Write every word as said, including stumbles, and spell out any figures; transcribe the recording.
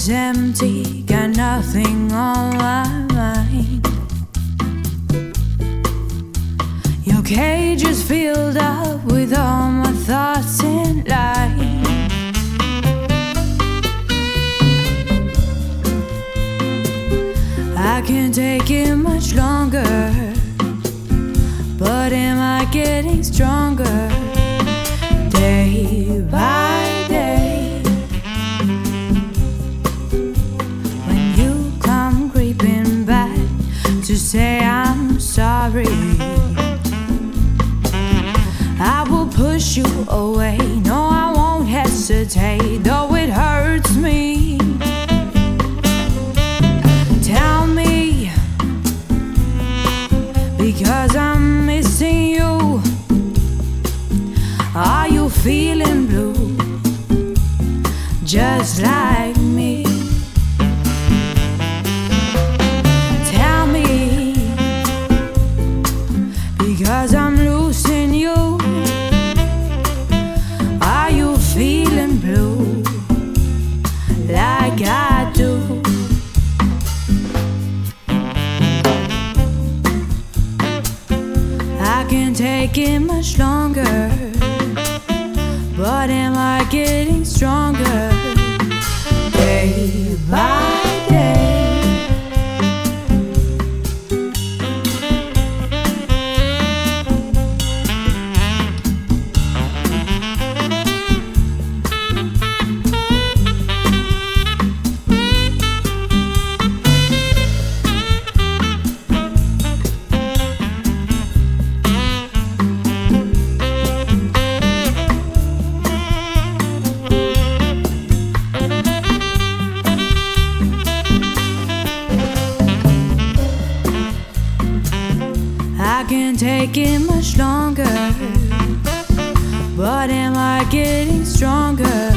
is empty, got nothing on my mind. Your cage is filled up with all my thoughts in line. I can't take it much longer, but am I getting stronger day by day? When you come creeping back to say I'm sorry, I will push you away. No, I won't hesitate, though it hurts me. Tell me, because I'm missing you. Are you feeling blue, just like me? Tell me, because I'm losing you. Are you feeling blue, like I do? I can't take it much longer, but am I getting stronger day by day? I can't take it much longer, but am I getting stronger